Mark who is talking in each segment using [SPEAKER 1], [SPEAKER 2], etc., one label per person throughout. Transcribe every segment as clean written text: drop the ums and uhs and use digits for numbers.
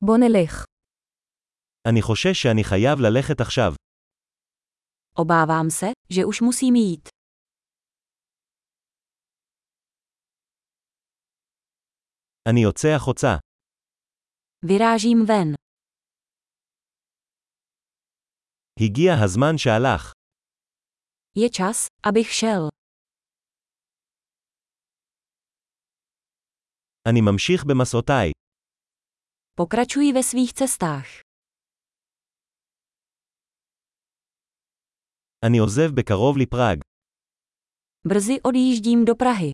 [SPEAKER 1] בוא נלך.
[SPEAKER 2] אני חושש שאני חייב ללכת עכשיו.
[SPEAKER 3] Obávám se, že už musím jít.
[SPEAKER 2] אני יוצא החוצה.
[SPEAKER 3] Vyrážím ven.
[SPEAKER 2] הגיע הזמן שהלך.
[SPEAKER 3] Je čas, abych šel.
[SPEAKER 2] אני ממשיך במסעותיי.
[SPEAKER 3] Pokračuji ve svých cestách.
[SPEAKER 2] אני עוזב בקרוב לפראג.
[SPEAKER 3] Brzy odjíždím do Prahy.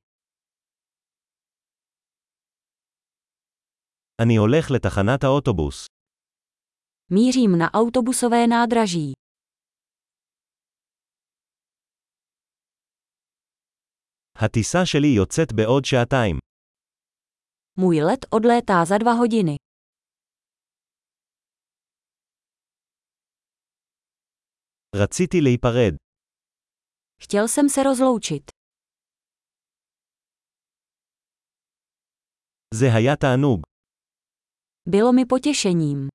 [SPEAKER 2] אני הולך לתחנת האוטובוס.
[SPEAKER 3] Mířím na autobusové nádraží.
[SPEAKER 2] הטיסה שלי יוצאת בעוד שעתיים.
[SPEAKER 3] Můj let odlétá za 2 hodiny.
[SPEAKER 2] רציתי להיפרד.
[SPEAKER 3] Chtěl jsem se rozloučit.
[SPEAKER 2] זה היה תענוג.
[SPEAKER 3] Bylo mi potěšením.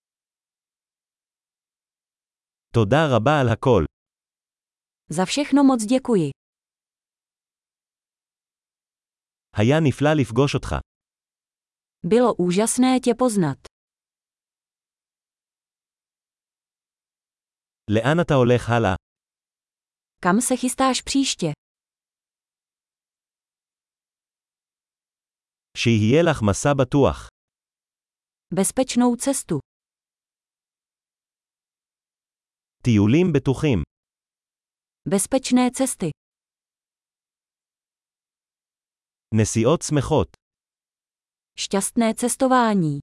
[SPEAKER 2] תודה רבה על הכל.
[SPEAKER 3] Za všechno moc děkuji.
[SPEAKER 2] היה נפלא לפגוש אותך.
[SPEAKER 3] Bylo úžasné tě poznat.
[SPEAKER 2] לאן אתה הולך הלאה?
[SPEAKER 3] Kam se chystáš příště?
[SPEAKER 2] שיהיה לך מסע בטוח.
[SPEAKER 3] Bezpečnou cestu.
[SPEAKER 2] טיולים בטוחים.
[SPEAKER 3] Bezpečné cesty.
[SPEAKER 2] נסיעות שמחות.
[SPEAKER 3] Šťastné cestování.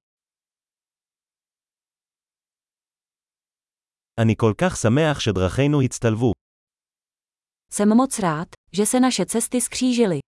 [SPEAKER 2] אני כל כך שמח שדרכינו הצטלבו.
[SPEAKER 3] Jsem moc rád, že se naše cesty skřížily.